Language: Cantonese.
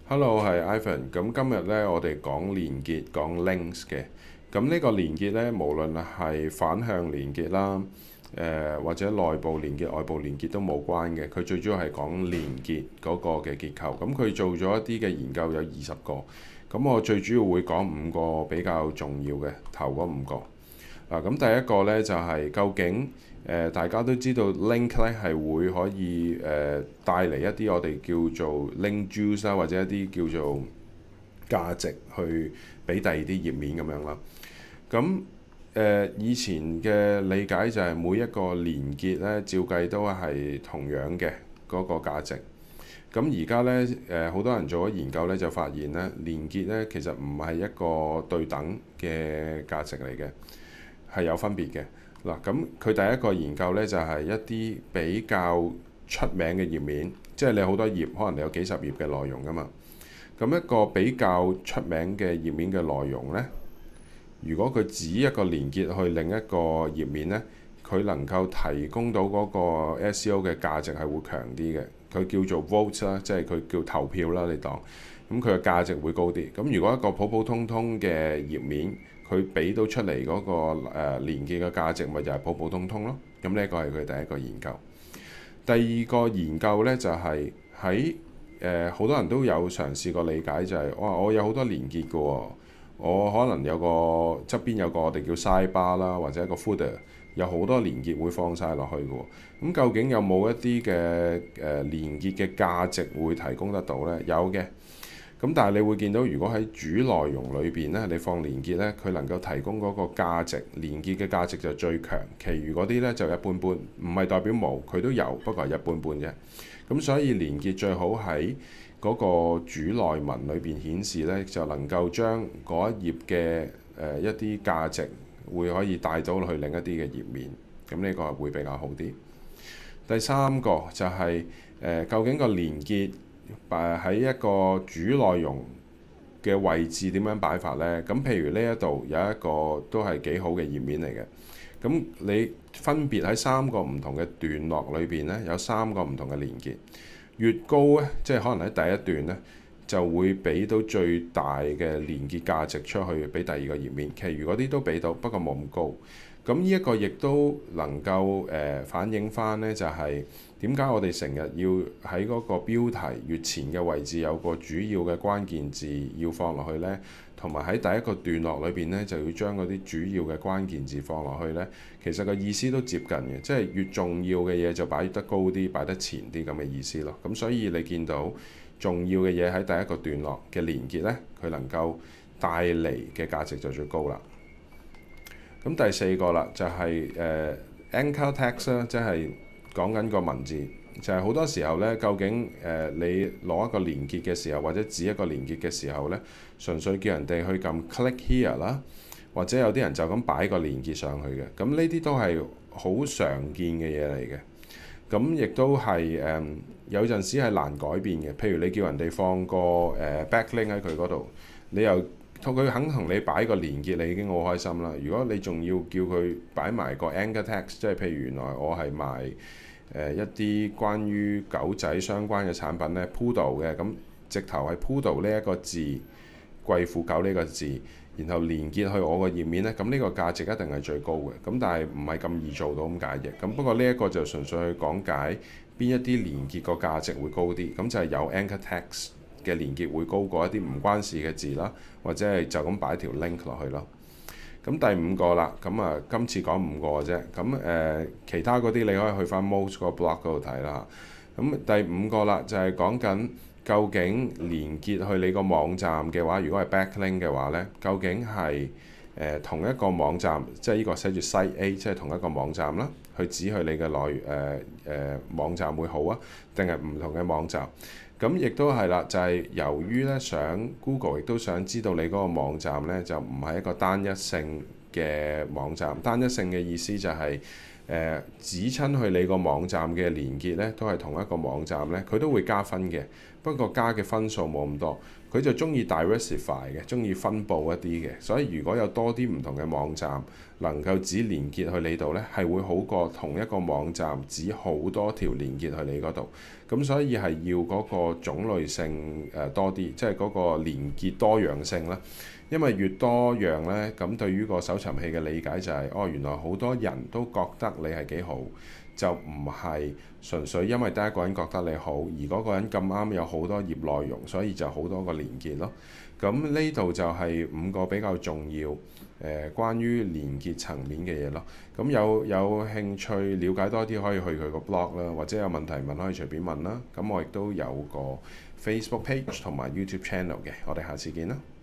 Hello，係 Ivan。咁今日咧，我哋講連結，講 links 嘅。咁呢個連結咧，無論係反向連結啦，或者內部連結、外部連結都冇關嘅。佢最主要係講連結嗰個嘅結構。咁佢做咗一啲嘅研究有20個。咁我最主要會講5個比較重要嘅，頭嗰5個。咁第一個咧就係、究竟大家都知道 link 咧係會可以帶嚟一啲我哋叫做 link juice 啦，或者一啲叫做價值去俾第二啲頁面咁樣啦。咁以前嘅理解就係每一個連結咧，照計都係同樣嘅嗰個價值。咁而家咧好多人做咗研究咧，就發現咧連結咧其實唔係一個對等嘅價值嚟嘅，係有分別嘅。嗱，咁佢第一個研究咧就係一啲比較出名嘅頁面，即係你好多頁，可能你有幾十頁嘅內容㗎嘛。咁一個比較出名嘅頁面嘅內容咧，如果佢指一個連結去另一個頁面咧，佢能夠提供到嗰個 SEO 嘅價值係會強啲嘅。佢叫做 vote 啦，即係佢叫投票啦，你當。咁佢嘅價值會高啲。咁如果一個普普通通嘅頁面，佢俾到出嚟嗰個連結嘅價值，咪就係普普通通咯。咁呢一個係佢第一個研究。第二個研究呢，就係喺好多人都有嘗試過理解，就係我有好多連結嘅喎，我可能有個側邊有個我哋叫 sidebar 啦，或者一個 footer，有好多連結會放晒落去嘅喎。咁究竟有冇一啲嘅連結嘅價值會提供得到呢？有嘅。咁但係你會見到，如果喺主內容裏邊咧，你放連結咧，佢能夠提供嗰個價值，連結嘅價值就最強，其餘嗰啲咧就一般般，唔係代表冇，佢都有，不過係一般般啫。咁所以連結最好喺嗰個主內文裏邊顯示咧，就能夠將嗰一頁嘅一啲價值會可以帶到去另一啲嘅頁面，咁呢個會比較好啲。第三個就係究竟個連結喺一個主內容嘅位置點樣擺法呢？咁譬如呢一度有一個都係幾好嘅頁面嚟嘅。咁你分別喺3個唔同嘅段落裏邊呢，有3個唔同嘅連結。越高呢，即係可能喺第一段呢，就會俾到最大嘅連結價值出去俾第二個頁面。其餘嗰啲都俾到，不過冇咁高。咁呢一個亦都能夠反映翻呢，就係點解我哋成日要喺嗰個標題越前嘅位置有個主要嘅關鍵字要放落去呢？同埋喺第一個段落裏邊呢，就要將嗰啲主要嘅關鍵字放落去呢。其實個意思都接近嘅，即係越重要嘅嘢就擺得高啲，擺得前啲咁嘅意思咯。咁所以你見到重要嘅嘢喺第一個段落嘅連結呢，佢能夠帶嚟嘅價值就最高啦。咁第4個啦，就係anchor text 啦，即係講緊個文字，就係好多時候咧，究竟你攞一個連結嘅時候，或者指一個連結嘅時候咧，純粹叫人哋去撳 click here 啦，或者有啲人就咁擺個連結上去嘅，咁呢啲都係好常見嘅嘢嚟嘅。咁亦都係有陣時係難改變嘅，譬如你叫人哋放個backlink 喺佢嗰度，你又佢肯同你擺個連結，你已經好開心啦。如果你仲要叫佢擺埋個 anchor text，即係譬如原來我係賣一啲關於狗仔相關嘅產品咧 ，Poodle 嘅，咁直頭係 Poodle 呢一個字，貴婦狗呢個字，然後連結去我個頁面咧，咁呢個價值一定係最高嘅。咁但係唔係咁易做到咁解嘅。咁不過呢一個就純粹去講解邊一啲連結個價值會高啲，咁就係有 anchor text嘅連結會高過一啲唔關事嘅字啦，或者係就咁擺條 link 落去咯。咁第5個啦，咁今次講5個啫。咁其他嗰啲你可以去翻 Most 個 blog 嗰度睇啦。咁第5個啦，就係講緊究竟連結去你個網站嘅話，如果係 backlink 嘅話呢，究竟係同一個網站，即係呢個寫住 Site A，即係同一個網站啦，去指去你嘅網站會好啊，定係唔同嘅網站？咁亦都係啦，就係由於咧想 Google 亦都想知道你嗰個網站咧就唔係一個單一性嘅網站。單一性嘅意思就係指親去你個網站嘅連結咧都係同一個網站咧，佢都會加分嘅。 不過加嘅分數冇咁多。佢就中意 diversify 嘅，中意分佈一啲嘅。所以如果有多啲唔同嘅網站能夠只連結去你度呢，係會好過同一個網站只好多條連結去你嗰度。咁所以係要嗰個種類性多啲，即係嗰個連結多樣性啦。因為越多樣呢，咁對於個搜尋器嘅理解就係，哦，原來好多人都覺得你係幾好，就唔係純粹因為第一個人覺得你好，而嗰個人咁啱有好多頁內容，所以就好多個連結咯。咁呢度就係5個比較重要關於連結層面嘅嘢咯。咁有興趣了解多啲，可以去佢個 blog 啦，或者有問題問可以隨便問啦。咁我亦都有個 Facebook page 同埋 YouTube channel 嘅。我哋下次見啦。